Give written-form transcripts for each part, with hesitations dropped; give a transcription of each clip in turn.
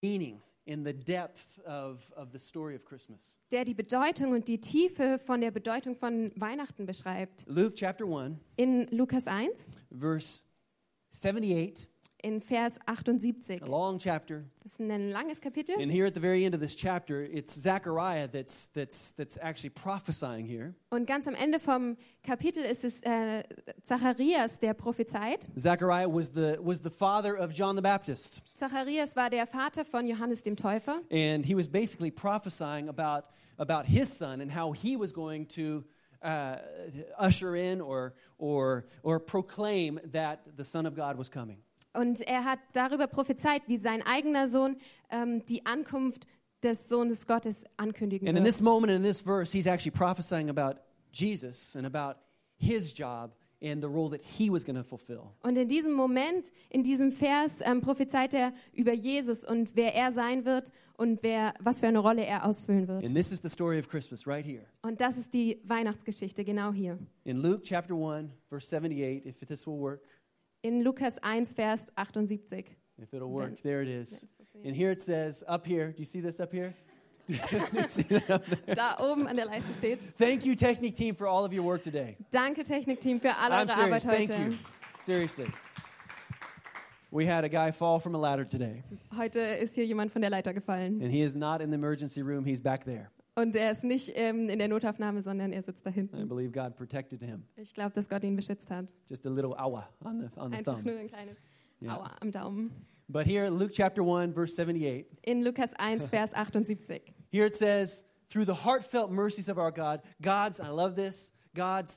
meaning in the depth of the story of Christmas. Der die Bedeutung und die Tiefe von der Bedeutung von Weihnachten beschreibt. Luke chapter 1, In Lukas 1, verse 78, in Vers 78. a long chapter. Das ist ein langes Kapitel. And here at the very end of this chapter, it's Zechariah that's actually prophesying here. Und ganz am Ende vom Kapitel ist es Zacharias, der prophezeit. Zechariah was the father of John the Baptist. Zacharias war der Vater von Johannes dem Täufer. And he was basically prophesying about his son and how he was going to usher in or proclaim that the Son of God was coming. Und er hat darüber prophezeit, wie sein eigener Sohn die Ankunft des Sohnes Gottes ankündigen And in wird. this moment, in this verse, he's actually prophesying about Jesus and about his job and the role that he was going to fulfill. Und in diesem Moment, in diesem Vers, prophezeit er über Jesus und wer er sein wird und was für eine Rolle er ausfüllen wird. And this is the story of Christmas right here. Und das ist die Weihnachtsgeschichte, genau hier. In Luke chapter 1, verse 78, if this will work. In Lukas 1, Vers 78. If it'll work, there it is. Let's see. And here it says, up here, do you see this up here? Da oben an der Leiste steht's. Thank you, Technic team, for all of your work today. Danke, Technikteam, für alle I'm eure Arbeit serious, heute. thank you. Seriously. We had a guy fall from a ladder today, Heute ist hier jemand von der Leiter gefallen. and he is not in the emergency room, he's back there. Und er ist nicht in der Notaufnahme, sondern er sitzt da I hinten. believe God protected him. Ich glaube, dass Gott ihn beschützt hat. Just a little awa on the Einfach thumb. nur ein kleines Yeah. Aua am Daumen. But here, Luke chapter 1, verse 78, In Lukas 1, Vers 78. here it says, through the heartfelt mercies of our God, I love this, God's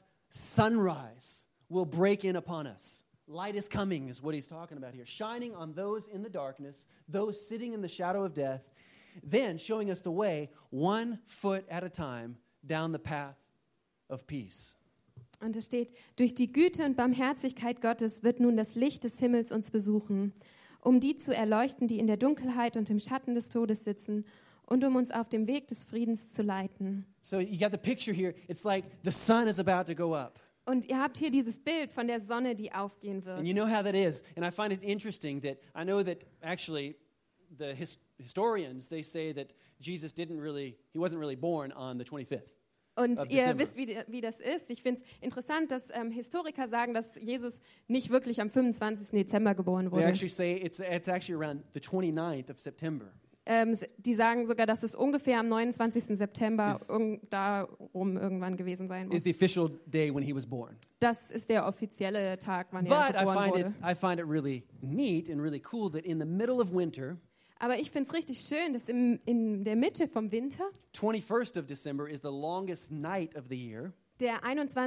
sunrise will break in upon us. Light is coming is what he's talking about here. Shining on those in the darkness, those sitting in the shadow of death, then showing us the way, 1 foot at a time, down the path of peace. Und es steht, durch die Güte und Barmherzigkeit Gottes wird nun das Licht des Himmels uns besuchen, um die zu erleuchten, die in der Dunkelheit und im Schatten des Todes sitzen und um uns auf dem Weg des Friedens zu leiten. So you got the picture here. It's like the sun is about to go up. Und ihr habt hier dieses Bild von der Sonne, die aufgehen And you wird. know how that is. And I find it interesting that I know that actually the historians, they say that Jesus he wasn't really born on the 25th. Und of ihr December. wisst, wie das ist. Ich finde es interessant, dass Historiker sagen, dass Jesus nicht wirklich am 25. Dezember geboren They wurde. actually say it's actually around the 29th of September. Die sagen sogar, dass es ungefähr am 29. September Is- darum irgendwann gewesen sein Is muss. the official day when he was born. Das ist der offizielle Tag, wann er But geboren wurde. I find it really neat and really cool that in the middle of winter, Aber ich finde es richtig schön, dass in der Mitte vom Winter, 21st of December is the longest night of the year. der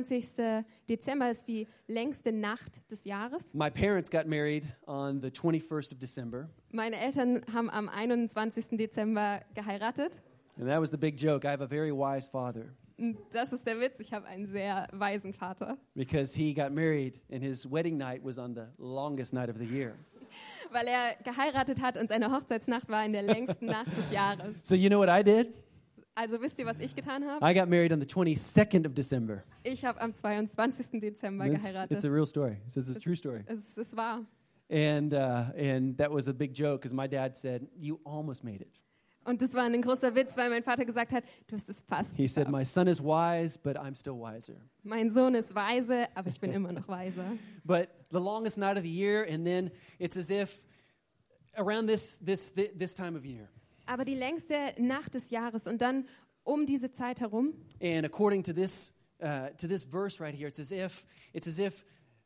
21. Dezember ist die längste Nacht des Jahres. My parents got married on the 21st of December. Meine Eltern haben am 21. Dezember geheiratet. And that was the big joke. I have a very wise father Und das ist der Witz, ich habe einen sehr weisen Vater. because he got married and his wedding night was on the longest night of the year. Weil er geheiratet hat und seine Hochzeitsnacht war in der längsten Nacht des Jahres. So you know what I did? Also wisst ihr, was ich getan habe? I got married on the 22nd of December. Ich habe am 22. Dezember It's geheiratet. a real story. It's a true story. Es ist wahr. And that was a big joke because my dad said, "You almost made it." Und das war ein großer Witz, weil mein Vater gesagt hat, du hast es fast He said, geschafft. "My son is wise, but I'm still wiser." Mein Sohn ist weise, aber ich bin immer noch weiser. But the longest night of the year, and then it's as if around this time of year. Aber die längste Nacht des Jahres und dann um diese Zeit herum. And according to this verse right here, it's as if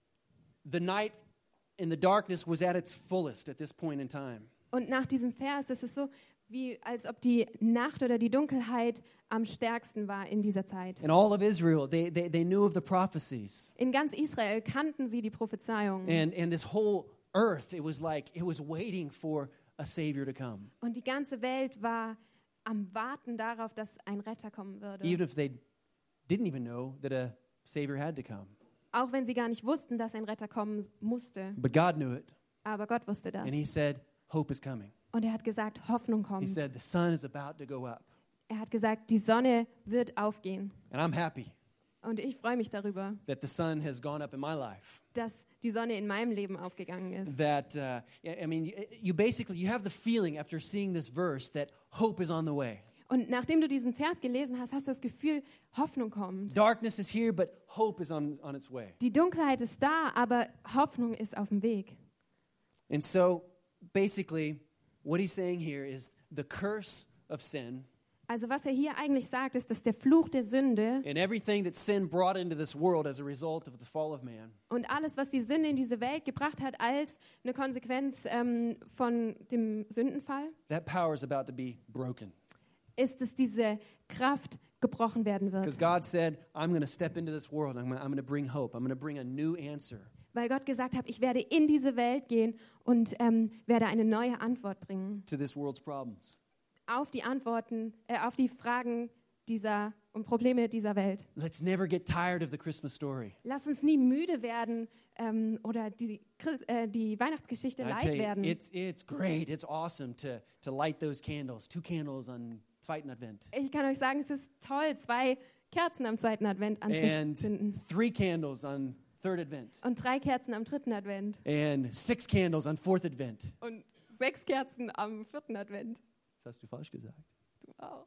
the night in the darkness was at its fullest at this point in time. Und nach diesem Vers ist es so, wie als ob die Nacht oder die Dunkelheit am stärksten war in dieser Zeit. And all of Israel, they knew of the prophecies. In ganz Israel kannten sie die Prophezeiung. And this whole earth, it was waiting for a Savior to come. Und die ganze Welt war am Warten darauf, dass ein Retter kommen würde. Even if they didn't even know that a Savior had to come. Auch wenn sie gar nicht wussten, dass ein Retter kommen musste. But God knew it. Aber Gott wusste das. And he said, hope is coming. Und er hat gesagt, Hoffnung He kommt. said, the sun is about to go up. Er hat gesagt, die Sonne wird aufgehen. And I'm happy. Und ich freue mich darüber, that the sun has gone up in my life. dass die Sonne in meinem Leben aufgegangen ist. That, I mean, you have the feeling after seeing this verse that hope is on the way. Und nachdem du diesen Vers gelesen hast, hast du das Gefühl, Hoffnung kommt. Darkness is here, but hope is on its way. Die Dunkelheit ist da, aber Hoffnung ist auf dem Weg. And so, basically, what he's saying here is the curse of sin Also was er hier eigentlich sagt, ist, dass der Fluch der Sünde and everything that sin brought into this world as a result of the fall of man und alles, was die Sünde in diese Welt gebracht hat, als eine Konsequenz von dem Sündenfall, that power is about to be broken. ist, dass diese Kraft gebrochen werden Because wird. God said, I'm going to step into this world. I'm going to bring hope. I'm going to bring a new answer. Weil Gott gesagt hat, ich werde in diese Welt gehen und werde eine neue Antwort bringen To this world's problems. auf die Antworten, auf die Fragen und Probleme dieser Welt. Let's never get tired of the Christmas story. Lass uns nie müde werden oder die Weihnachtsgeschichte I leid tell you, werden. it's great. It's awesome to light those candles. 2 candles on zweiten Advent. Ich kann euch sagen, es ist toll, 2 Kerzen am zweiten Advent And anzuzünden 3 candles on third Advent. und 3 Kerzen am dritten Advent And 6 candles on fourth Advent. und 6 Kerzen am vierten Advent. Das hast du falsch gesagt. Du auch.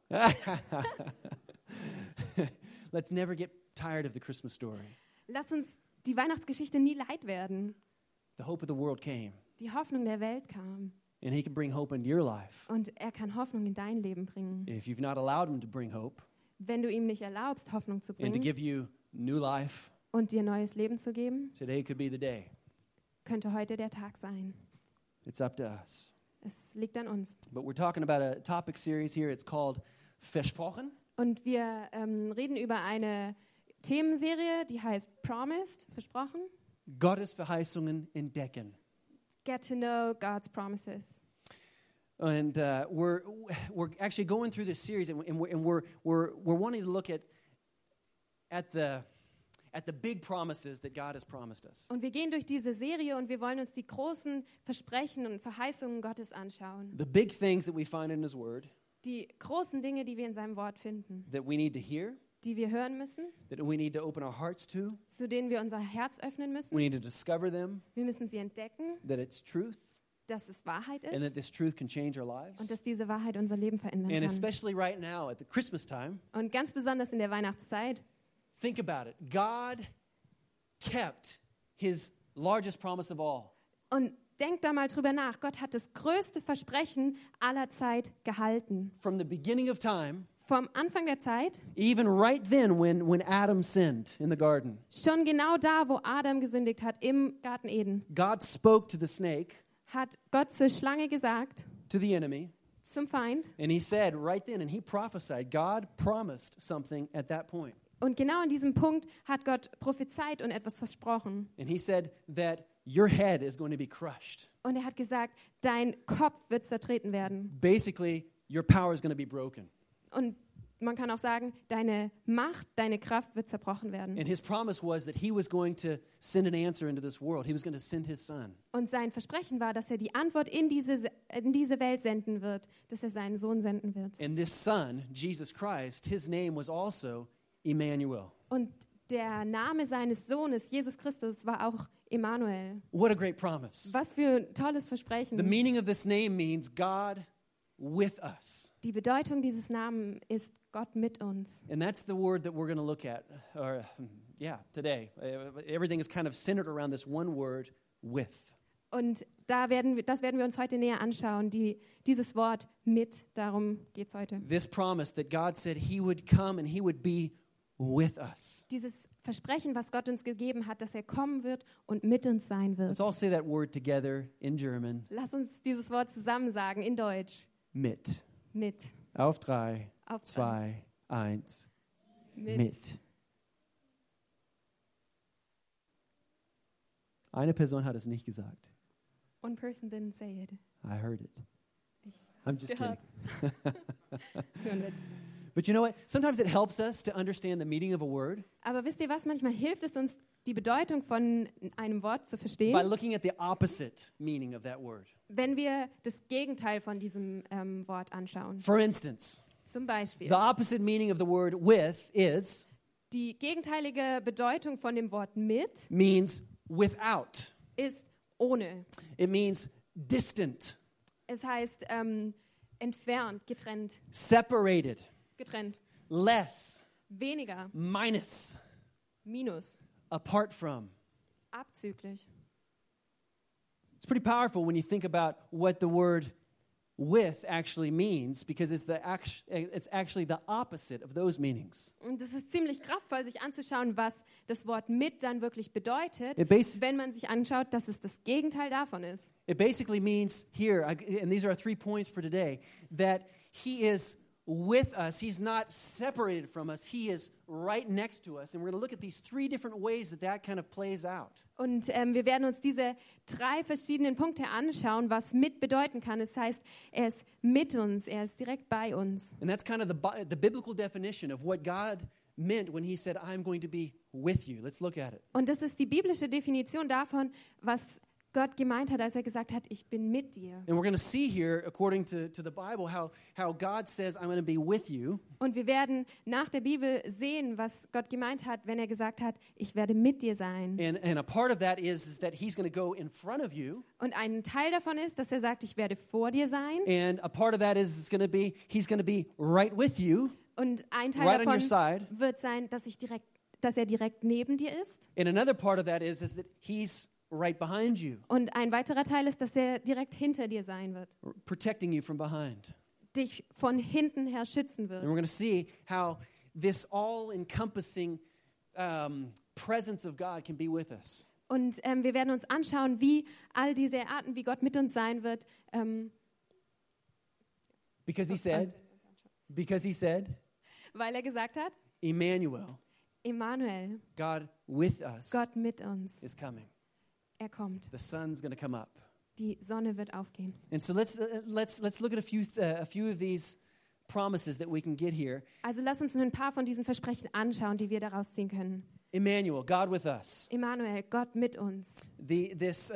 Let's never get tired of the Christmas story. Lass uns die Weihnachtsgeschichte nie leid werden. The hope of the world came. Die Hoffnung der Welt kam And he can bring hope into your life. und er kann Hoffnung in dein Leben bringen. If you've not allowed him to bring hope Wenn du ihm nicht erlaubst, Hoffnung zu and to bringen give you new life, und dir neues Leben zu geben, today could be the day. könnte heute der Tag sein. It's up to us. Es liegt an uns. But we're talking about a topic series here. It's called Versprochen. Und wir reden über eine Themenserie, die heißt Promised, versprochen. Gottes Verheißungen entdecken. Get to know God's promises. And we're actually going through this series, and we're wanting to look at the big promises that God has promised us. Und wir gehen durch diese Serie und wir wollen uns die großen Versprechen und Verheißungen Gottes anschauen. The big things that we find in His Word Die großen Dinge, die wir in seinem Wort finden, that we need to hear, die wir hören müssen, that we need to open our hearts to. zu denen wir unser Herz öffnen We müssen. need to discover them, Wir müssen sie entdecken, that it's truth, dass es Wahrheit and that ist this truth can change our und lives. dass diese Wahrheit unser Leben verändern And kann. especially right now at the Christmas time, Und ganz besonders in der Weihnachtszeit, think about it. God kept His largest promise of all. und denk da mal drüber nach, Gott hat das größte Versprechen aller Zeit gehalten. From the beginning of time, Vom Anfang der Zeit, even right then when Adam sinned in the garden, schon genau da, wo Adam gesündigt hat, im Garten Eden, God spoke to the snake, hat Gott zur Schlange gesagt, to the enemy, zum Feind. and He said right then, and He prophesied, God promised something at that point. Und genau in diesem Punkt hat Gott prophezeit und etwas versprochen. And He said that your head is going to be crushed. Und er hat gesagt, dein Kopf wird zertreten werden. Basically, your power is going to be broken. Und man kann auch sagen, deine Macht, deine Kraft wird zerbrochen werden. And His promise was that He was going to send an answer into this world. He was going to send His Son. Und sein Versprechen war, dass er die Antwort in diese Welt senden wird, dass er seinen Sohn senden wird. And this Son, Jesus Christ, His name was also Emmanuel. Und der Name seines Sohnes, Jesus Christus, war auch Emmanuel. What a great promise. Was für ein tolles Versprechen. The meaning of this name means God with us. Die Bedeutung dieses Namens ist Gott mit uns. And that's the word that we're going to look at today. Everything is kind of centered around this one word, with. Und das werden wir uns heute näher anschauen, dieses Wort mit, darum geht es heute. This promise that God said He would come and He would be with us. Dieses Versprechen, was Gott uns gegeben hat, dass er kommen wird und mit uns sein wird. Let's all say that word together in German. Lass uns dieses Wort zusammen sagen, in Deutsch. Mit. Mit. Auf 3, Auf 2, 1. Mit. Mit. Eine Person hat es nicht gesagt. One person didn't say it. I heard it. Ich I'm just gehört. kidding. Nur ein Witz. But you know what? Sometimes it helps us to understand the meaning of a word Aber wisst ihr was? Manchmal hilft es uns, die Bedeutung von einem Wort zu by verstehen, looking at the opposite meaning of that word. wenn wir das Gegenteil von diesem Wort anschauen. For instance, Zum Beispiel, the opposite meaning of the word with is Die gegenteilige Bedeutung von dem Wort mit means without. ist ohne. It means distant, Es heißt entfernt, getrennt, separated, getrennt, less, weniger, minus, minus, apart from. abzüglich. It's pretty powerful when you think about what the word with actually means, because it's actually the opposite of those meanings. Und es ist ziemlich kraftvoll, sich anzuschauen, was das Wort mit dann wirklich bedeutet, wenn man sich anschaut, dass es das Gegenteil davon ist. It basically means here, and these are our 3 points for today, that he is with us. He's not separated from us. He is right next to us. And we're going to look at these 3 different ways that kind of plays out. Und wir werden uns diese 3 verschiedenen Punkte anschauen, was mit bedeuten kann. Es heißt, er ist mit uns, er ist direkt bei uns. And that's kind of the biblical definition of what God meant when he said, I'm going to be with you. Let's look at it. Und das ist die biblische Definition davon, was Gott gemeint hat, als er gesagt hat, ich bin mit dir. And we're going to see here, according to the Bible, how God says, I'm going to be with you. Und wir werden nach der Bibel sehen, was Gott gemeint hat, wenn er gesagt hat, ich werde mit dir sein. And a part of that is that he's going to go in front of you. Und ein Teil davon ist, dass er sagt, ich werde vor dir sein. And a part of that is he's going to be right with you. Und ein Teil Right on your davon side. wird sein, dass er direkt neben dir ist. And another part of that is that he's right behind you, Und ein weiterer Teil ist, dass er direkt hinter dir sein wird, protecting you from behind. dich von hinten her schützen And we're wird. going to see how this all-encompassing presence of God can be with us. Und wir werden uns anschauen, wie all diese Arten, wie Gott mit uns sein wird. Because he said, Weil er gesagt hat, Emmanuel, Emmanuel, God with us, Gott mit uns, is coming. er kommt. The sun's going to come up. Die Sonne wird aufgehen. And so let's look at a few of these promises that we can get here. Also lass uns ein paar von diesen Versprechen anschauen, die wir daraus ziehen können. Emmanuel, God with us. Emmanuel, Gott mit uns. This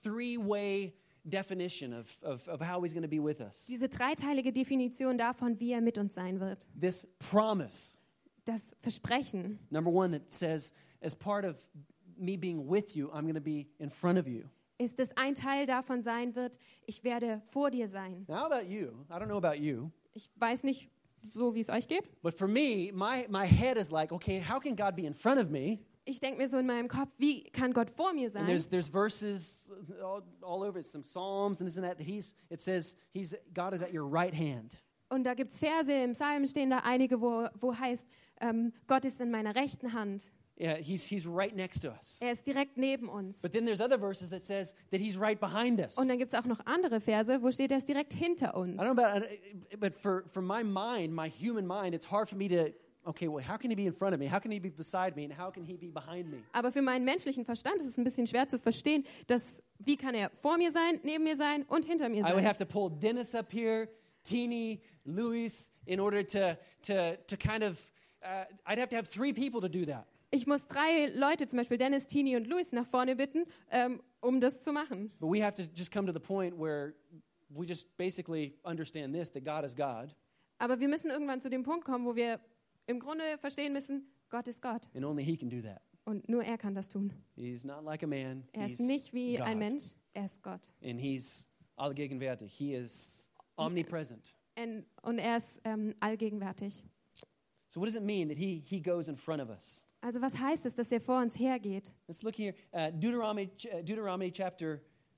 3-way definition of how he's going to be with us. Diese dreiteilige Definition davon, wie er mit uns sein wird. This promise, Das Versprechen. number 1, that says, as part of me being with you, I'm going to be in front of you. Ist es ein Teil davon sein wird, ich werde vor dir sein. Now, how about you? I don't know about you, Ich weiß nicht so, wie es euch geht. but for me, my head is like, okay, how can God be in front of me? Ich denke mir so in meinem Kopf, wie kann Gott vor mir And sein? there's verses all over it, some Psalms and this and that. It says God is at your right hand. Und da gibt es Verse, im Psalm stehen da einige, wo heißt, Gott ist in meiner rechten Hand. Yeah, he's right next to us. Er ist direkt neben uns. But then there's other verses that says that he's right behind us. Und dann gibt es auch noch andere Verse, wo steht, er ist direkt hinter uns. I don't know about, but for my mind, my human mind, it's hard for me to, okay, well, how can he be in front of me? How can he be beside me? And how can he be behind me? Aber für meinen menschlichen Verstand ist es ein bisschen schwer zu verstehen, wie kann er vor mir sein, neben mir sein und hinter mir I would sein. have to pull Dennis up here, Teeny, Luis, in order to kind of, I'd have to have 3 people to do that. Ich muss 3 Leute, zum Beispiel Dennis, Tini und Luis, nach vorne bitten, um das zu machen. But we have to just come to the point where we just basically understand this, that God is God, Aber wir müssen irgendwann zu dem Punkt kommen, wo wir im Grunde verstehen müssen, Gott ist Gott. and only he can do that. Und nur er kann das tun. He's not like a man. Er He's ist nicht wie God. ein Mensch, er ist Gott. And he's allgegenwärtig. He is omnipresent. Und er ist allgegenwärtig. So what does it mean that he goes in front of us? Also was heißt es, dass er vor uns hergeht? Let's look here. Deuteronomy chapter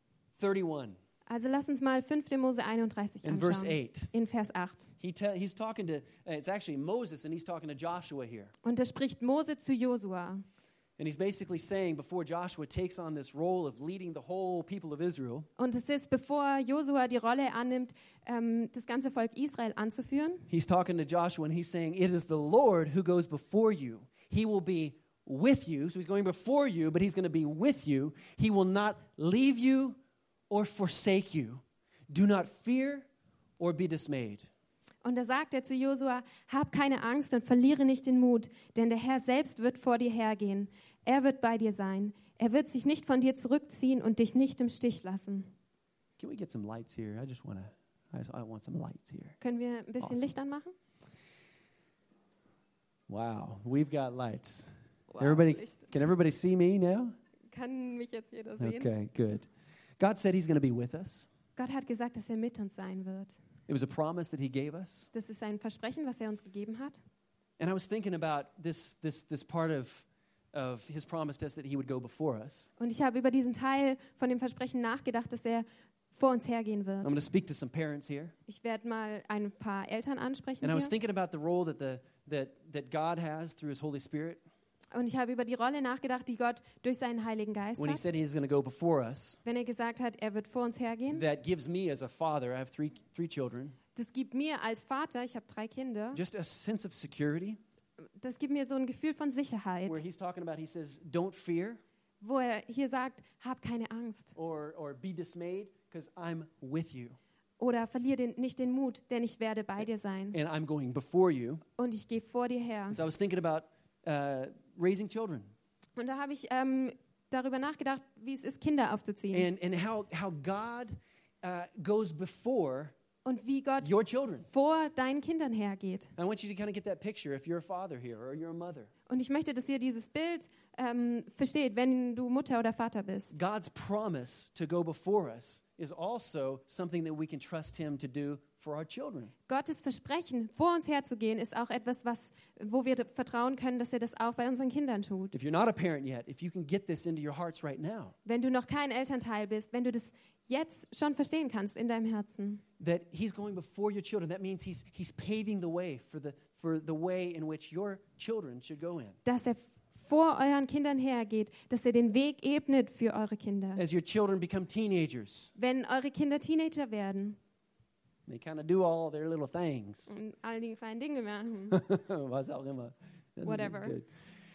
31 Also lass uns mal 5. Mose 31 in verse anschauen. 8. In Vers 8. He's talking to, it's actually Moses, and he's talking to Joshua here. Und da spricht Mose zu Josua. And he's basically saying, before Joshua takes on this role of leading the whole people of Israel, Und es ist, bevor Josua die Rolle annimmt, das ganze Volk Israel anzuführen. he's talking to Joshua, and he's saying, it is the Lord who goes before you. He will be with you. So he's going before you, but he's going to be with you. He will not leave you or forsake you. Do not fear or be dismayed. Und da sagt er zu Josua, hab keine Angst und verliere nicht den Mut, denn der Herr selbst wird vor dir hergehen. Er wird bei dir sein. Er wird sich nicht von dir zurückziehen und dich nicht im Stich lassen. Can we get some lights here? I want some lights here. Können wir ein bisschen Awesome. Licht anmachen? Wow, we've got lights. Wow, Everybody, Licht. can everybody see me now? Kann mich jetzt jeder sehen? Okay, good. God said he's going to be with us. Gott hat gesagt, dass er mit uns sein wird. It was a promise that he gave us. Das ist ein Versprechen, was er uns gegeben hat. And I was thinking about this part of his promise to us that he would go before us. Und ich habe über diesen Teil von dem Versprechen nachgedacht, dass er vor uns hergehen I'm wird. going to speak to some parents here. Ich werde mal ein paar Eltern ansprechen And I was hier. thinking about the role that God has through his Holy Spirit Und ich habe über die Rolle nachgedacht, die Gott durch seinen Heiligen Geist when he hat. said he's going to go before us. Wenn er gesagt hat, er wird vor uns hergehen. That gives me as a father, I have three children, Das gibt mir als Vater, ich habe 3 Kinder, just a sense of security das gibt mir so ein Gefühl von Sicherheit, where he's talking about, he says, don't fear wo er hier sagt, hab keine Angst or be dismayed because I'm with you oder verliere nicht den Mut, denn ich werde bei dir sein and I'm going before you. und ich gehe vor dir her. So I was thinking about raising children Und da habe ich darüber nachgedacht, wie es ist, Kinder aufzuziehen and how God goes before. und wie Gott Your children. vor deinen Kindern hergeht. I want you to kind of get that picture if you're a father here or you're a mother. Und ich möchte, dass ihr dieses Bild versteht, wenn du Mutter oder Vater bist. God's promise to go before us is also something that we can trust him to do for our children. Gottes Versprechen, vor uns herzugehen, ist auch etwas, wo wir vertrauen können, dass er das auch bei unseren Kindern tut. If you're not a parent yet, if you can get this into your hearts right now, Wenn du noch kein Elternteil bist, wenn du das jetzt schon verstehen kannst in deinem Herzen, that he's going before your children, that means he's paving the way for the way in which your children should go in. dass er vor euren Kindern hergeht, dass er den Weg ebnet für eure Kinder. As your children become teenagers, Wenn eure Kinder Teenager werden they kind of do all their little things. und all die kleinen Dinge machen, Was auch immer. That's Whatever. good.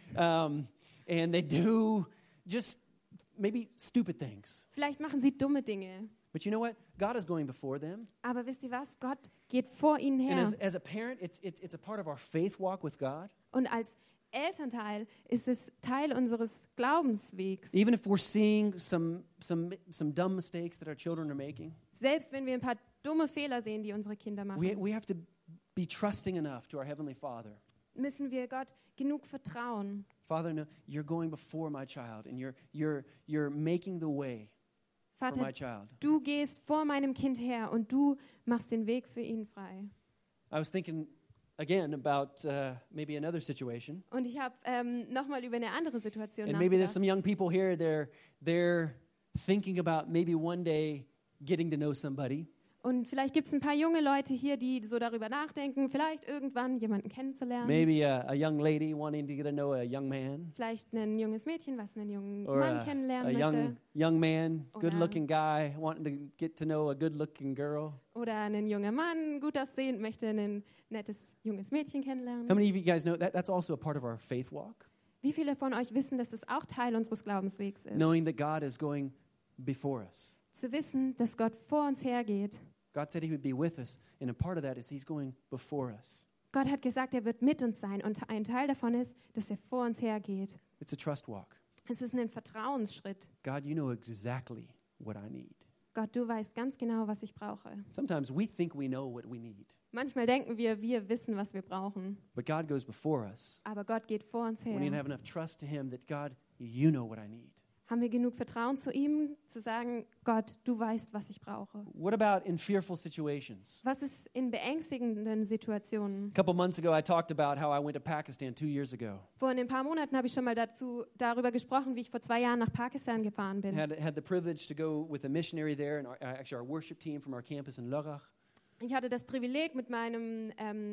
And they do just maybe stupid things. vielleicht machen sie dumme Dinge. But you know what? God is going before them. Aber wisst ihr was? Gott geht vor ihnen And her. as a parent, it's a part of our faith walk with God. Und als Elternteil ist es Teil unseres Glaubenswegs. Even if we're seeing some dumb mistakes that our children are making, Selbst wenn wir ein paar dumme Fehler sehen, die unsere Kinder machen, we have to be trusting enough to our Heavenly Father. müssen wir Gott genug vertrauen. Father, no, you're going before my child, and you're making the way for my Vater, child. du gehst vor meinem Kind her und du machst den Weg für ihn frei. I was thinking again about maybe another situation, Und ich habe nochmal über eine andere Situation and maybe there's nachgedacht. some young people here. They're thinking about maybe one day getting to know somebody. Und vielleicht gibt es ein paar junge Leute hier, die so darüber nachdenken, vielleicht irgendwann jemanden kennenzulernen. Maybe a young lady wanting to get to know a young man, Vielleicht ein junges Mädchen, was einen jungen or Mann a kennenlernen möchte. young man, Oder- good-looking guy wanting to get to know a good-looking girl. Oder ein junger Mann, gut aussehend, möchte ein nettes junges Mädchen How kennenlernen. many of you guys know that's also a part of our faith walk? Wie viele von euch wissen, dass das auch Teil unseres Glaubenswegs ist? Knowing that God is going before us. Zu wissen, dass Gott vor uns hergeht. God said he would be with us, and a part of that is he's going before us. Gott hat gesagt, er wird mit uns sein und ein Teil davon ist, dass er vor uns hergeht. It's a trust walk. Es ist ein Vertrauensschritt. God, you know exactly what I need. Gott, du weißt ganz genau, was ich brauche. Sometimes we think we know what we need, Manchmal denken wir wissen, was wir brauchen. but God goes before us. Aber Gott geht vor uns We need to her. have enough trust to him that, God, you know what I need. Haben wir genug Vertrauen zu ihm, zu sagen, Gott, du weißt, was ich brauche. What about in fearful situations? Was ist in beängstigenden Situationen? A couple months ago, I talked about how I went to Pakistan 2 years ago. Vor ein paar Monaten habe ich schon mal darüber gesprochen, wie ich vor 2 Jahren nach Pakistan gefahren bin. Had the privilege to go with a missionary there, and actually our worship team from our campus in Lörrach. Ich hatte das Privileg, mit meinem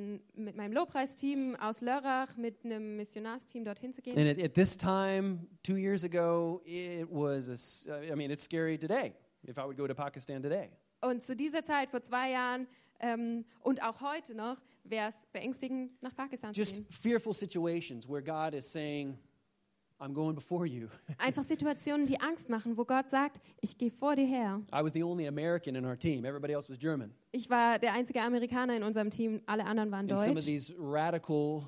Lobpreisteam aus Lörrach, mit einem Missionarsteam dorthin zu gehen. And at this time, 2 years ago, it was, it's scary today, if I would go to Pakistan today. Und zu dieser Zeit, vor 2 Jahren und auch heute noch, wäre es beängstigend, nach Pakistan zu Just gehen. fearful situations where God is saying, I'm going before you. Einfach Situationen, die Angst machen, wo Gott sagt, ich gehe vor dir her. I was the only American in our team. Everybody else was German. Ich war der einzige Amerikaner in unserem Team, alle anderen waren And some of deutsch. these radical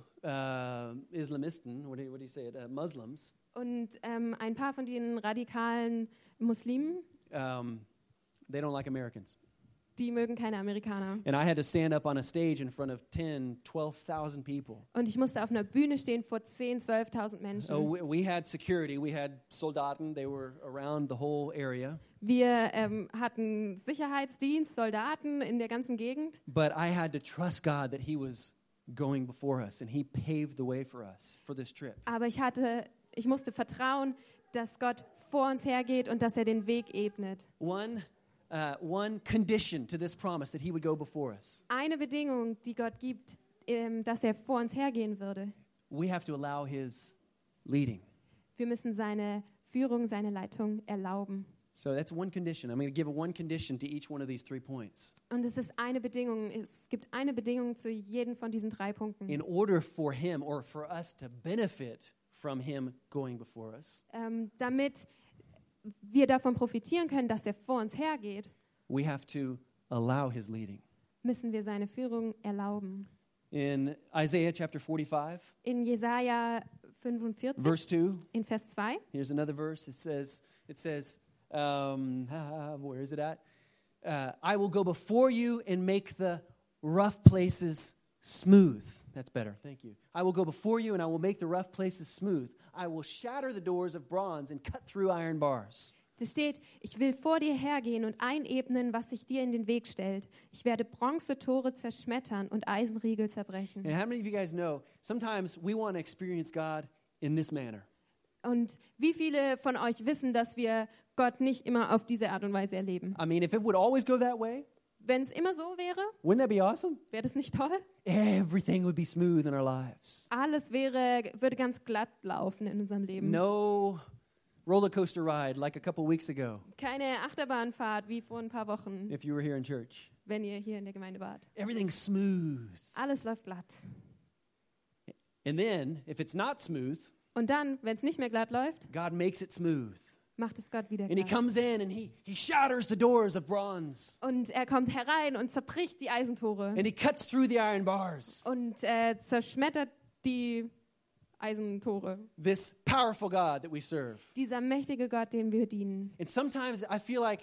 Islamisten, what do you say it, Muslims, Und ein paar von den radikalen Muslimen, they don't like Americans. die mögen keine Amerikaner. And I had to stand up on a stage in front of 10, 12,000 people. Und ich musste auf einer Bühne stehen vor 10.000, 12.000 Menschen. So we had security. We had Soldaten. They were around the whole area. Wir hatten Sicherheitsdienst, Soldaten in der ganzen Gegend. But I had to trust God that He was going before us, and He paved the way for us for this trip. Aber ich musste vertrauen, dass Gott vor uns hergeht und dass er den Weg ebnet. One condition to this promise that He would go before us. Eine Bedingung, die Gott gibt, dass er vor uns hergehen würde. We have to allow His leading. Wir müssen seine Führung, seine Leitung erlauben. So that's one condition. I'm going to give one condition to each one of these 3 points. Und es ist eine Bedingung, es gibt eine Bedingung zu jedem von diesen 3 Punkten. In order for Him or for us to benefit from Him going before us, Damit wir davon profitieren können, dass er vor uns hergeht, we have to allow His leading. müssen wir seine Führung erlauben. In Isaiah chapter 45, In Jesaja 45, verse 2, in Vers 2, here's another verse. It says, where is it at? I will go before you and make the rough places smooth. That's better. Thank you. I will go before you and I will make the rough places smooth. I will shatter the doors of bronze and cut through iron bars. da steht, ich will vor dir hergehen und einebnen, was sich dir in den Weg stellt. Ich werde Bronzetore zerschmettern und Eisenriegel zerbrechen. And how many of you guys know, sometimes we want to experience God in this manner. Und wie viele von euch wissen, dass wir Gott nicht immer auf diese Art und Weise erleben? I mean, if it would always go that way, Wenn es immer so wäre, wouldn't that be awesome? wäre das nicht toll? Everything would be smooth in our lives. Alles würde ganz glatt laufen in unserem Leben. No roller coaster ride like a couple weeks ago, Keine Achterbahnfahrt wie vor ein paar Wochen, if you were here in church. wenn ihr hier in der Gemeinde wart. Everything's smooth. Alles läuft glatt. And then, if it's not smooth, Und dann, wenn es nicht mehr glatt läuft, God makes it smooth. macht es Gott wieder And He glatt. comes in and He shatters the doors of bronze. Und er kommt herein und zerbricht die Eisentore And He cuts through the iron bars. und zerschmettert die Eisentore. This powerful God that we serve. Dieser mächtige Gott, dem wir dienen. And sometimes I feel like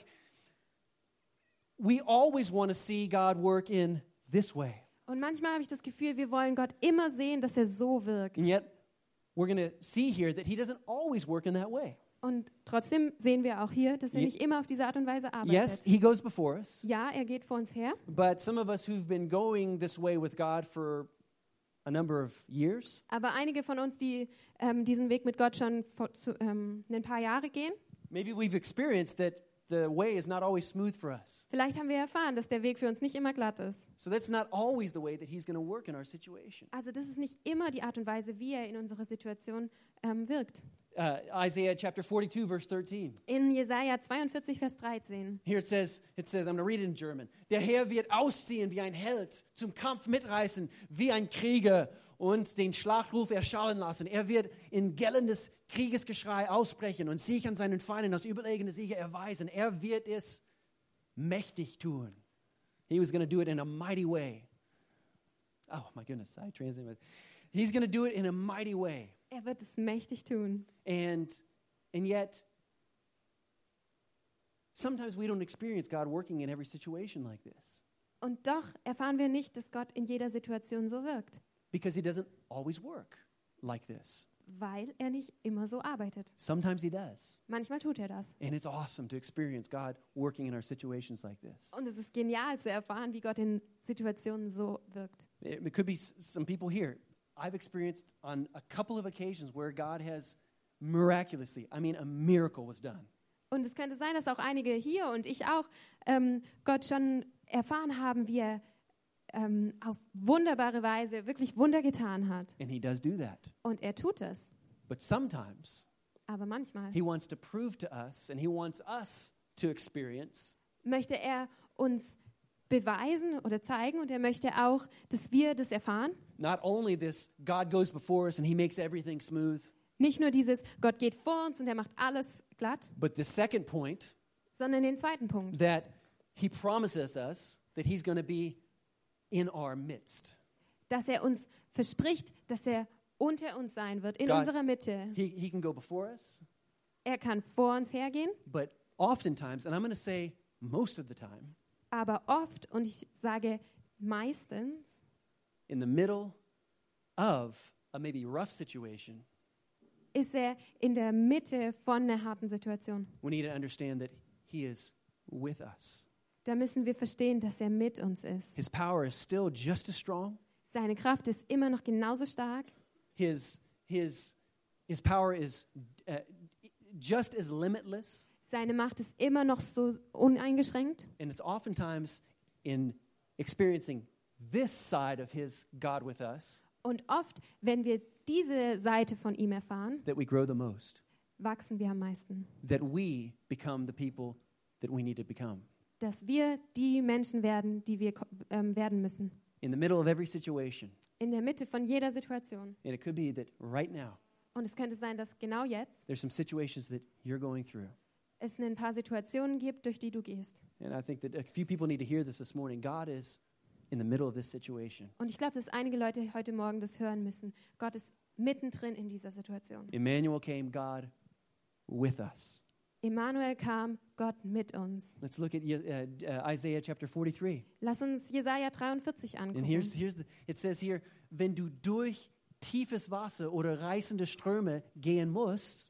we always want to see God work in this way. Und manchmal habe ich das Gefühl, wir wollen Gott immer sehen, dass er so wirkt. And yet, we're going to see here that He doesn't always work in that way. Und trotzdem sehen wir auch hier, dass er Ye- nicht immer auf diese Art und Weise arbeitet. Yes, He goes before us. Ja, er geht vor uns her. But some of us who've been going this way with God for a number of years, Aber einige von uns, die diesen Weg mit Gott schon ein paar Jahre gehen, maybe we've experienced that the way is not always smooth for us. vielleicht haben wir erfahren, dass der Weg für uns nicht immer glatt ist. So that's not always the way that He's going to work in our situation. Also das ist nicht immer die Art und Weise, wie er in unserer Situation wirkt. Isaiah chapter 42, verse 13. In Jesaja 42, Vers 13. Here it says, I'm going to read it in German. Der Herr wird ausziehen wie ein Held, zum Kampf mitreißen wie ein Krieger und den Schlachtruf erschallen lassen. Er wird in gellendes Kriegesgeschrei ausbrechen und sich an seinen Feinden als überlegene Sieger erweisen. Er wird es mächtig tun. He was going to do it in a mighty way. Oh my goodness, I translated it. He's going to do it in a mighty way. Er wird es mächtig tun. And yet, sometimes we don't experience God working in every situation like this Und doch erfahren wir nicht, dass Gott in jeder Situation so wirkt, because He doesn't always work like this. weil er nicht immer so arbeitet. Sometimes He does. Manchmal tut er das. And it's awesome to experience God working in our situations like this. Und es ist genial zu erfahren, wie Gott in Situationen so wirkt. It could be some people here. I've experienced on a couple of occasions where God has miraculously, a miracle was done. Und es könnte sein, dass auch einige hier und ich auch Gott schon erfahren haben, wie er auf wunderbare Weise wirklich Wunder getan hat. And He does do that. Und er tut es. But sometimes Aber manchmal He wants to prove to us and He wants us to experience möchte er uns beweisen oder zeigen und er möchte auch, dass wir das erfahren. not only this God goes before us and He makes everything smooth, Nicht nur dieses, Gott geht vor uns und er macht alles glatt, but the second point, sondern den zweiten Punkt, that He promises us that He's going to be in our midst. dass er uns verspricht, dass er unter uns sein wird, in God- unserer Mitte. He can go before us, Er kann vor uns hergehen, but oftentimes, and I'm going to say most of the time, Aber oft, und ich sage meistens, in the middle of a maybe rough situation, ist er in der Mitte von einer harten Situation. we need to understand that he is with us. Da müssen wir verstehen, dass er mit uns ist. His power is still just as strong. Seine Kraft ist immer noch genauso stark. His power is just as limitless. Seine Macht ist immer noch so uneingeschränkt. And it's oftentimes in experiencing this side of his God with us Und oft, wenn wir diese Seite von ihm erfahren, that we grow the most, wachsen wir am meisten. that we become the people that we need to become. Dass wir die Menschen werden, die wir werden müssen. In the middle of every situation. In der Mitte von jeder Situation. And it could be that right now, Und es könnte sein, dass genau jetzt there's some situations that you're going through. es ein paar Situationen gibt, durch die du gehst. And I think that a few people need to hear this morning. God is in the middle of this situation. Und ich glaube, dass einige Leute heute Morgen das hören müssen. Gott ist mittendrin in dieser Situation. Emmanuel came, God with us. Emmanuel kam, Gott mit uns. Let's look at Isaiah chapter 43. Lass uns Jesaja 43 And angucken. it says here, wenn du durch tiefes Wasser oder reißende Ströme gehen musst,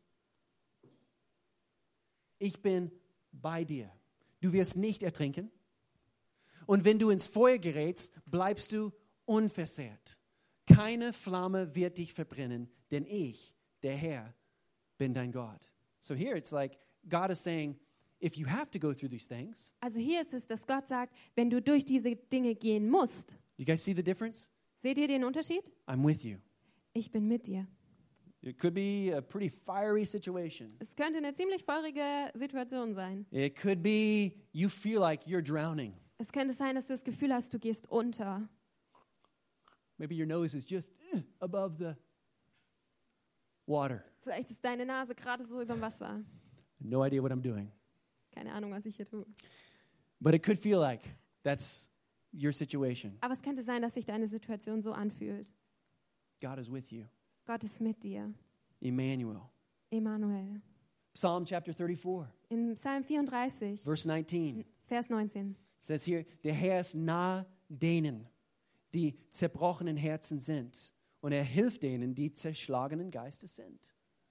ich bin bei dir. Du wirst nicht ertrinken. Und wenn du ins Feuer gerätst, bleibst du unversehrt. Keine Flamme wird dich verbrennen, denn ich, der Herr, bin dein Gott. So here it's like God is saying, if you have to go through these things, Also hier ist es, dass Gott sagt, wenn du durch diese Dinge gehen musst, you guys see the difference? seht ihr den Unterschied? I'm with you. Ich bin mit dir. It could be a pretty fiery situation. Es könnte eine ziemlich feurige Situation sein. It could be you feel like you're drowning. Es könnte sein, dass du das Gefühl hast, du gehst unter. Maybe your nose is just above the water. Vielleicht ist deine Nase gerade so über dem Wasser. No idea what I'm doing. Keine Ahnung, was ich hier tue. But it could feel like that's your situation. Aber es könnte sein, dass sich deine Situation so anfühlt. God is with you. Gott ist mit dir. Emmanuel. Emmanuel. Psalm chapter 34, In Psalm 34, verse 19 Vers 19. says here, der Herr ist nah denen, die zerbrochenen Herzen sind. Und er hilft denen, die zerschlagenen Geistes sind.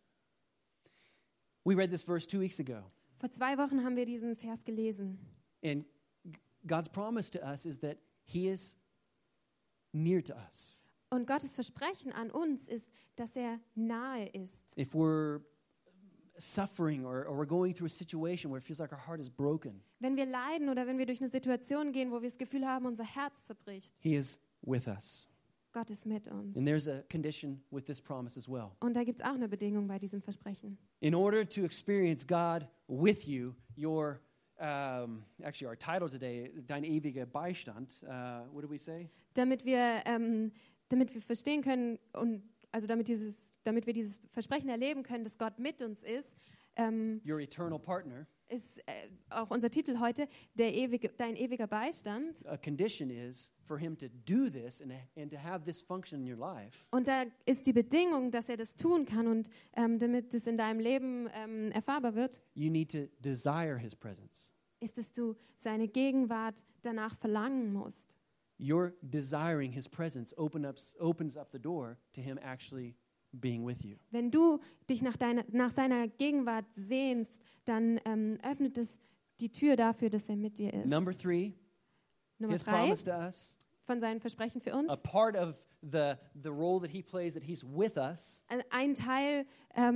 We read this verse 2 weeks ago. Vor 2 Wochen haben wir diesen Vers gelesen. And God's promise to us is that he is near to us. Und Gottes Versprechen an uns ist, dass er nahe ist. If we're suffering or we're going through a situation where it feels like our heart is broken, Wenn wir leiden oder wenn wir durch eine Situation gehen, wo wir das Gefühl haben, unser Herz zerbricht, he is with us. Gott ist mit uns. And there's a condition with this promise as well. Und da gibt es auch eine Bedingung bei diesem Versprechen. In order to experience God with you, your actually our title today, Dein ewiger Beistand. What do we say? Damit wir verstehen können und also damit wir dieses Versprechen erleben können, dass Gott mit uns ist, Your eternal partner. ist auch unser Titel heute, dein ewiger Beistand. A condition is for him to do this and to have this function in your life. Und da ist die Bedingung, dass er das tun kann und damit es in deinem Leben erfahrbar wird, You need to desire his presence. ist, dass du seine Gegenwart danach verlangen musst. Your desiring his presence opens up the door to him actually being with you. Wenn du dich nach seiner Gegenwart sehnst, dann öffnet es die Tür dafür, dass er mit dir ist. Number 3, Nummer his 3 promise to us, von seinen Versprechen für a uns. part of the role that he plays, that he's with us, Ein Teil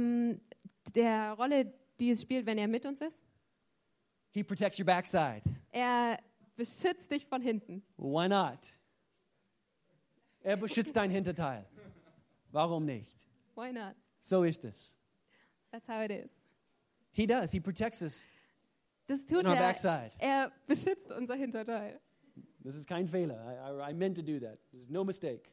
der Rolle, die es spielt, wenn er mit uns ist. he protects your backside. Er beschützt dich von hinten. Why not? Er beschützt dein Hinterteil. Warum nicht? Why not? So ist es. That's how it is. He does. He protects us Das tut in our er. backside. Er beschützt unser Hinterteil. This is kein Fehler. I meant to do that. This is no mistake.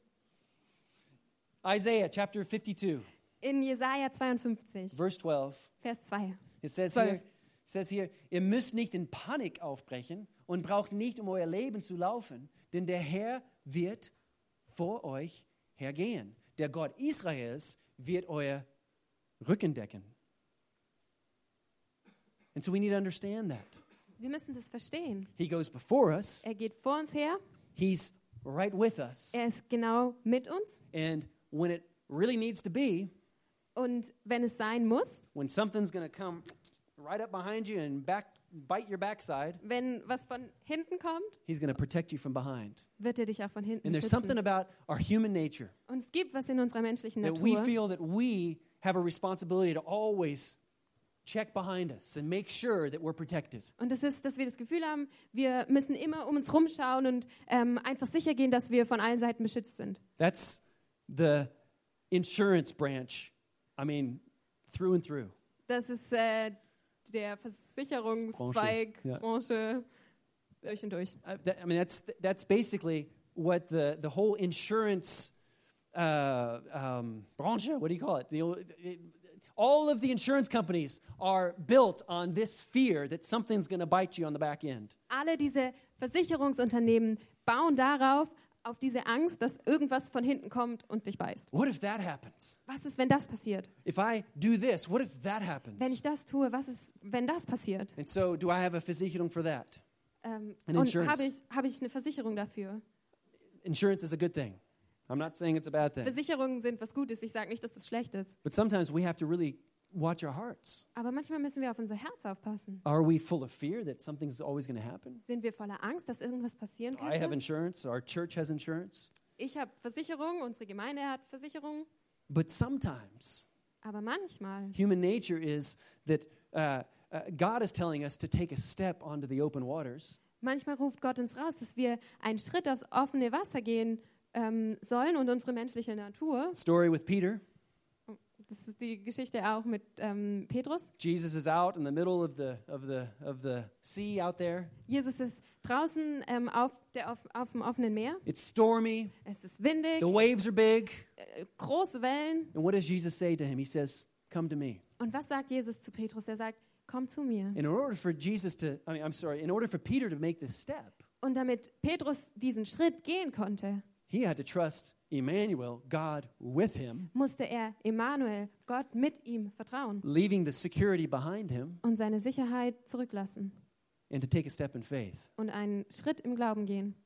Isaiah chapter 52, In Jesaja 52, verse 12. Vers 2. It says 12. here, ihr müsst nicht in Panik aufbrechen und braucht nicht um euer Leben zu laufen, denn der Herr wird vor euch hergehen. Der Gott Israels wird euer Rücken decken. And so we need to understand that. Wir müssen das verstehen. He goes before us. Er geht vor uns her. He's right with us. Er ist genau mit uns. And when it really needs to be, Und wenn es sein muss, when something's going to come right up behind you and bite your backside, wenn was von hinten kommt, he's going to protect you from behind. wird er dich auch von hinten And there's something schützen. about our human nature Und es gibt was in unserer menschlichen that we Natur, feel that we have a responsibility to always check behind us and make sure that we're protected. und das ist, dass wir das Gefühl haben, wir müssen immer um uns rumschauen und einfach sicher gehen, dass wir von allen Seiten beschützt sind. That's the insurance branch. I mean, through and through. Das ist der Versicherungszweig, Ja. Branche, durch und durch. That's basically what the whole insurance branch. What do you call it? All of the insurance companies are built on this fear that something's going to bite you on the back end. Alle diese Versicherungsunternehmen bauen darauf, auf diese Angst, dass irgendwas von hinten kommt und dich beißt. What if that happens? Was ist, wenn das passiert? If I do this, what if that happens? Wenn ich das tue, was ist, wenn das passiert? And so, do I have a Versicherung for that? Und insurance. habe ich eine Versicherung dafür? Insurance is a good thing. I'm not saying it's a bad thing. Versicherungen sind was Gutes. Ich sage nicht, dass das schlecht ist. But sometimes we have to really watch our hearts. Aber manchmal müssen wir auf unser Herz aufpassen. Are we full of fear that something's always going to happen? Sind wir voller Angst, dass irgendwas passieren I have könnte? insurance. Our church has insurance. Ich habe Versicherung, unsere Gemeinde hat Versicherung. But sometimes Aber manchmal human nature is that God is telling us to take a step onto the open waters. Manchmal ruft Gott uns raus, dass wir einen Schritt aufs offene Wasser gehen sollen und unsere menschliche Natur. Story with Peter. Das ist die Geschichte auch mit Petrus. Jesus is out in the middle of the sea out there. Jesus ist draußen auf dem offenen Meer. It's stormy. Es ist windig, The waves are big. große Wellen. And what does Jesus say to him? He says, "Come to me." Und was sagt Jesus zu Petrus? Er sagt, komm zu mir. And in order for in order for Peter to make this step, Und damit Petrus diesen Schritt gehen konnte, he had to trust Emmanuel, God with him, musste er Emmanuel, Gott mit ihm vertrauen leaving the security behind him, und seine Sicherheit zurücklassen and to take a step in faith. und einen Schritt im Glauben gehen.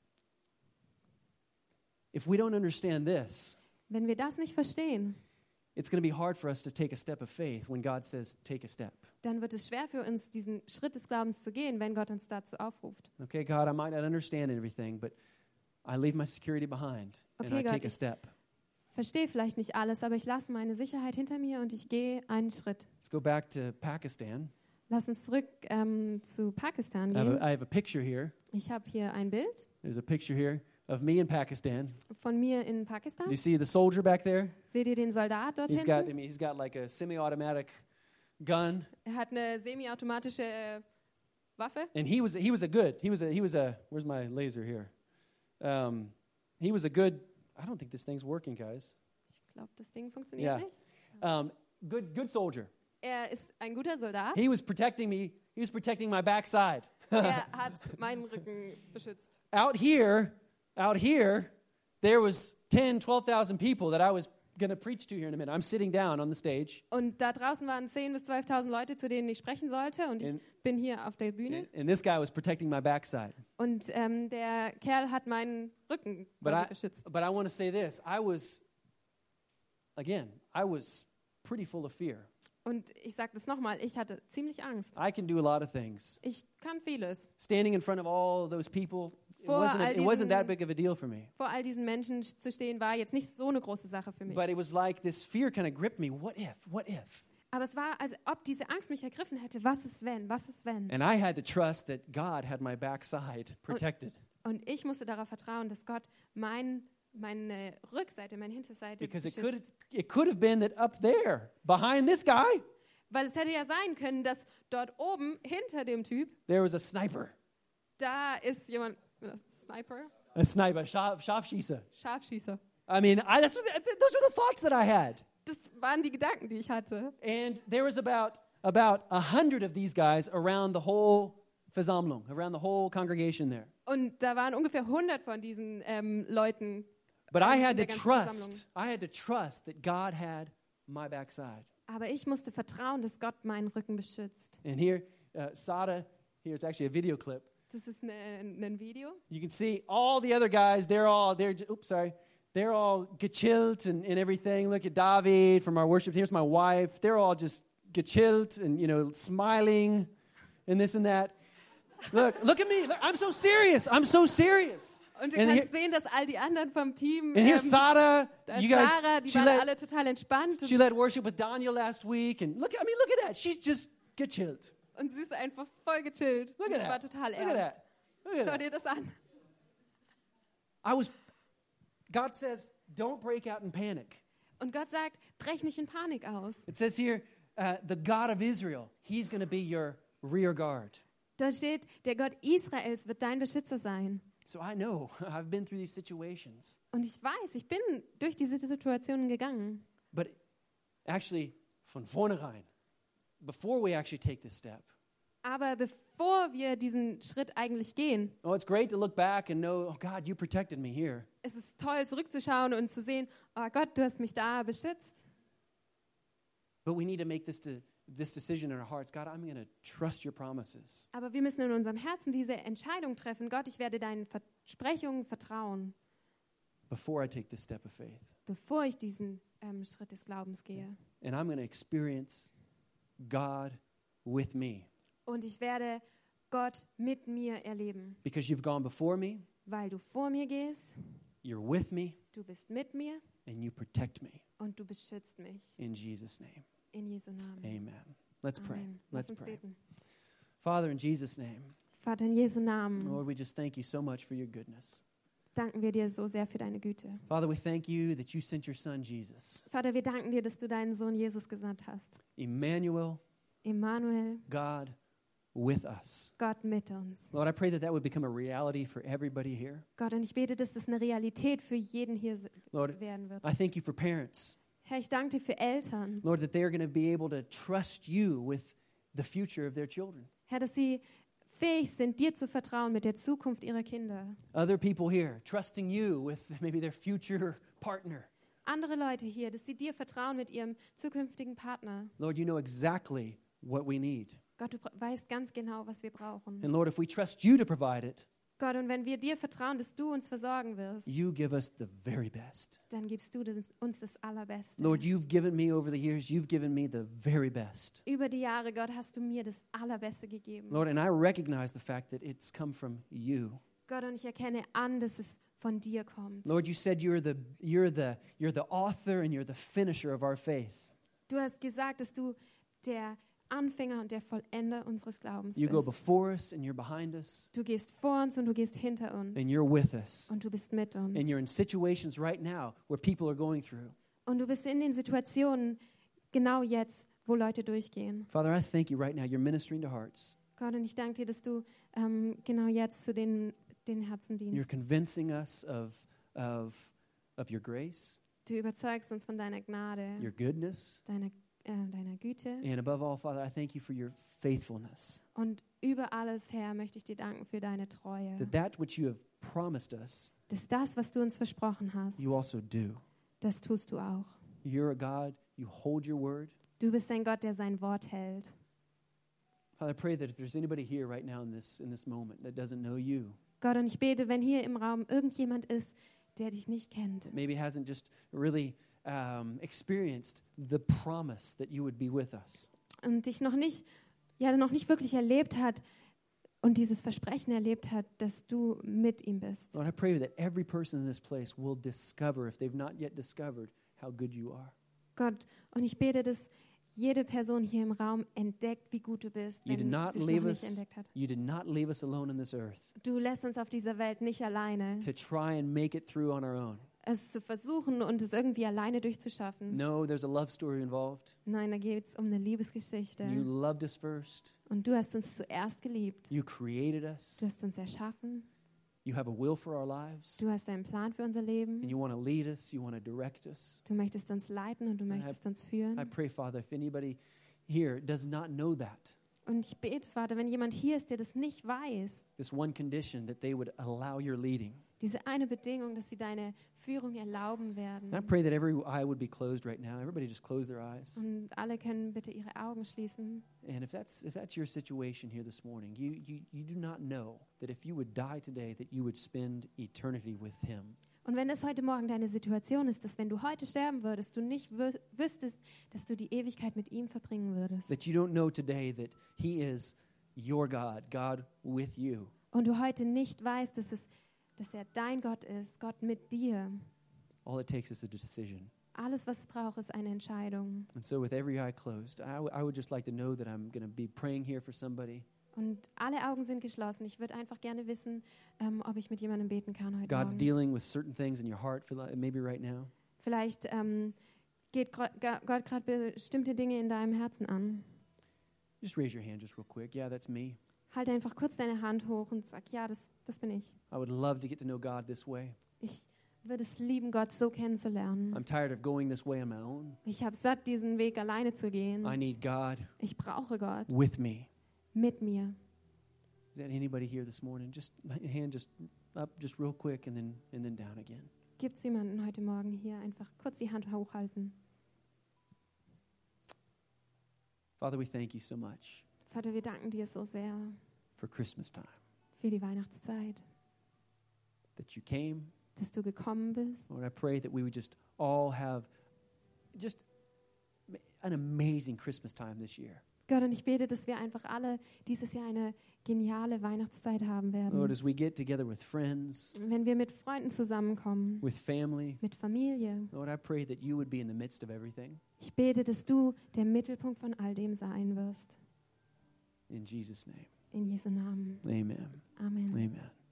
If we don't understand this, Wenn wir das nicht verstehen, it's going to be hard for us to take a step of faith when God says, take a step. dann wird es schwer für uns, diesen Schritt des Glaubens zu gehen, wenn Gott uns dazu aufruft. Okay, God, I might not understand everything, but I leave my security behind and Okay, I Gott, take a step. Verstehe vielleicht nicht alles, aber ich lasse meine Sicherheit hinter mir und ich gehe einen Schritt. Let's go back to Pakistan. Lass uns zurück zu Pakistan I have gehen. I have a picture here. Ich habe hier ein Bild There's a picture here of me in Pakistan. von mir in Pakistan. Do you see the soldier back there? Seht ihr den Soldat dort He's got, hinten? he's got like a semi-automatic gun, Er hat eine semiautomatische Waffe. and he was a good. He was a. Where's my laser here? He was a good. I don't think this thing's working, guys. Ich glaube, das Ding funktioniert Ja. nicht. Good soldier. Er ist ein guter Soldat. He was protecting me. He was protecting my backside. Er hat meinen Rücken beschützt. Out here, there was 10, 12,000 people that I was going to preach to here in a minute. I'm sitting down on the stage, Und da draußen waren 10.000 bis 12.000 Leute, zu denen ich sprechen sollte. Und ich In- bin hier auf der Bühne. and this guy was protecting my backside. Und der Kerl hat meinen Rücken But quasi I beschützt. want to say this. I was pretty full of fear. Und ich sage das nochmal, ich hatte ziemlich Angst. I can do a lot of things. Ich kann vieles. Standing in front of all those people, Vor all it wasn't that diesen- big of a deal for me. Vor all diesen Menschen zu stehen, war jetzt nicht so eine große Sache für mich. But it was like this fear kind of gripped me. What if? What if? Aber es war, als ob diese Angst mich ergriffen hätte. Was ist wenn? Was ist wenn? And I had to trust that God had my backside protected. Und ich musste darauf vertrauen, dass Gott meine Rückseite, meine Hinterseite Because beschützt. it could have been that up there, behind this guy, Weil es hätte ja sein können, dass dort oben, hinter dem Typ, there was a sniper. da ist jemand, Sniper, A sniper, Scharfschießer. Scharfschießer. I mean, those were the thoughts that I had. Das waren die Gedanken, die ich hatte. And there was about 100 of these guys around the whole Versammlung, around the whole congregation there. Und da waren ungefähr 100 von diesen Leuten. But I in had to der ganzen Versammlung. trust that God had my backside. Aber ich musste vertrauen, dass Gott meinen Rücken beschützt. And here, Sada, here. It's actually a video clip. Das ist ein Video. You can see all the other guys. They're all gechillt and everything. Look at David from our worship. Here's my wife. They're all just gechillt and, smiling and this and that. Look at me. I'm so serious. I'm so serious. Und du kannst sehen, dass all die anderen vom Team, and here's Sarah. You guys, Sarah, die waren alle total entspannt. She led worship with Daniel last week. And look at that. She's just gechillt. Und sie ist einfach voll gechillt. Look Und at ich that. war total Look at ernst. that. Look at Schau that. dir das an. God says, don't break out in panic. Und Gott sagt, brech nicht in Panik aus. It says here, the God of Israel, he's going to be your rear guard. Da steht, der Gott Israels wird dein Beschützer sein. So I know, I've been through these situations. Und ich weiß, ich bin durch diese Situationen gegangen. But actually, von vornherein, before we actually take this step, Aber bevor wir diesen Schritt eigentlich gehen, it's great to look back and know, oh God, you protected me here. es ist toll zurückzuschauen und zu sehen, oh Gott, du hast mich da beschützt. But we need to make this decision in our hearts. God, I'm going to trust your promises. Aber wir müssen in unserem Herzen diese Entscheidung treffen. Gott, ich werde deinen Versprechungen vertrauen, Before I take this step of faith. bevor ich diesen Schritt des Glaubens gehe. And I'm going to experience God with me. Und ich werde Gott mit mir erleben, Because you've gone before me, weil du vor mir gehst, you're with me, du bist mit mir and you protect me. und du beschützt mich. In Jesus' name, In Jesu Namen. amen. Let's pray. Amen. Lass Let's uns pray. beten. Father, in Jesus' name, Vater, in Jesu Namen Lord, we just thank you so much for your goodness. danken wir dir so sehr für deine Güte. Father, we thank you that you sent your son, Jesus. Vater, wir danken dir, dass du deinen Sohn Jesus gesandt hast. Emmanuel, Emmanuel, God with us. Gott mit uns. Lord, I pray that would become a reality for everybody here. Gott, und ich bete, dass das eine Realität für jeden hier Lord, werden wird. I thank you for parents. Herr, ich danke dir für Eltern. Lord, that they are going to be able to trust you with the future of their children. Herr, dass sie fähig sind, dir zu vertrauen mit der Zukunft ihrer Kinder. Other people here trusting you with maybe their future partner. Andere Leute hier, dass sie dir vertrauen mit ihrem zukünftigen Partner. Lord, you know exactly what we need. Gott, du weißt ganz genau, was wir brauchen. And Lord, if we trust you to provide it, Gott, und wenn wir dir vertrauen, dass du uns versorgen wirst, you give us the very best. dann gibst du uns das Allerbeste. Lord, you've given me over the years, you've given me the very best. Über die Jahre, Gott, hast du mir das Allerbeste gegeben. Lord, and I recognize the fact that it's come from you. Gott, und ich erkenne an, dass es von dir kommt. Lord, you said you're the author and you're the finisher of our faith. Du hast gesagt, dass du der Anfänger und der Vollender unseres Glaubens You go bist. before us and you're behind us Du gehst vor uns und du gehst hinter uns. and you're with us. Und du bist mit uns. And you're in situations right now where people are going through. Und du bist in den Situationen genau jetzt, wo Leute durchgehen. Father, I thank you right now. You're ministering to hearts. Gott, und ich danke dir, dass du genau jetzt zu den Herzen You're dienst. convincing us of your grace, Du überzeugst uns von deiner Gnade, your goodness, deiner Güte. and above all, Father, I thank you for your faithfulness. Und über alles, Herr, möchte ich dir danken für deine Treue. That which you have promised us, Dass das, was du uns versprochen hast, you also do. das tust du auch. You're a God, you hold your word. Du bist ein Gott, der sein Wort hält. Father, I pray that if there's anybody here right now in this moment that doesn't know you, Gott, und ich bete, wenn hier im Raum irgendjemand ist, der dich nicht kennt, that maybe hasn't just really experienced the promise that you would be with us. und dich noch nicht wirklich erlebt hat und dieses Versprechen erlebt hat, dass du mit ihm bist. Lord, I pray that every person in this place will discover, if they've not yet discovered, how good you are. Gott, und ich bete, dass jede Person hier im Raum entdeckt, wie gut du bist, You wenn did not sie es noch leave nicht us. entdeckt hat. You did not leave us alone in this earth Du lässt uns auf dieser Welt nicht alleine, to try and make it through on our own. es zu versuchen und es irgendwie alleine durchzuschaffen. No, there's a love story involved. Nein, da geht es um eine Liebesgeschichte. You loved us first. Und du hast uns zuerst geliebt. You created Du us. hast uns erschaffen. You have a will for our lives. Du hast einen Plan für unser And Leben. you want to lead us. You want to direct us. Du möchtest uns leiten und du möchtest uns I führen. pray, Father, if anybody here does not know that, Und ich bete, Vater, wenn jemand hier ist, der das nicht weiß, this one condition, that they would allow your leading. Diese eine Bedingung, dass sie deine Führung erlauben werden. And I pray that every eye would be closed right now. Everybody just close their eyes. Und alle können bitte ihre Augen schließen. And if that's your situation here this morning, you do not know that if you would die today, that you would spend eternity with him. Und wenn das heute Morgen deine Situation ist, dass wenn du heute sterben würdest, du nicht wüsstest, dass du die Ewigkeit mit ihm verbringen würdest. That you don't know today that he is your God, God with you. Und du heute nicht weißt, dass er dein Gott ist, Gott mit dir. All it takes is a decision. Alles, was es braucht, ist eine Entscheidung. And so with every eye closed, I would just like to know that I'm going to be praying here for somebody. Und alle Augen sind geschlossen. Ich würde einfach gerne wissen, ob ich mit jemandem beten kann heute God's Morgen. dealing with certain things in your heart, maybe right now. Vielleicht geht Gott gerade bestimmte Dinge in deinem Herzen an. Just raise your hand just real quick. Yeah, that's me. Halt einfach kurz deine Hand hoch und sag, ja, das bin ich. I would love to get to know God this way. Ich würde es lieben, Gott so kennenzulernen. I'm tired of going this way on my own. Ich habe satt, diesen Weg alleine zu gehen. I need God Ich brauche Gott with me. mit mir. Is that anybody here this morning? Just hand just up just real quick and then down again. Gibt es jemanden heute Morgen hier? Einfach kurz die Hand hochhalten. Father, we thank you so much Vater, wir danken dir so sehr for Christmas time. für die Weihnachtszeit, That you came. dass du gekommen bist. Lord, I pray that we would just all have just an amazing Christmas time this year. Gott, und ich bete, dass wir einfach alle dieses Jahr eine geniale Weihnachtszeit haben werden. Lord, as we get together with friends, Wenn wir mit Freunden zusammenkommen, with family, mit Familie. Lord, I pray that you would be in the midst of everything. Ich bete, dass du der Mittelpunkt von all dem sein wirst. In Jesus' name. In Jesu Namen. Amen. Amen. Amen.